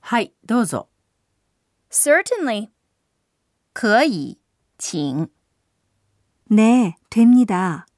はい、どうぞ。 Certainly. 可以、请。 네, 됩니다.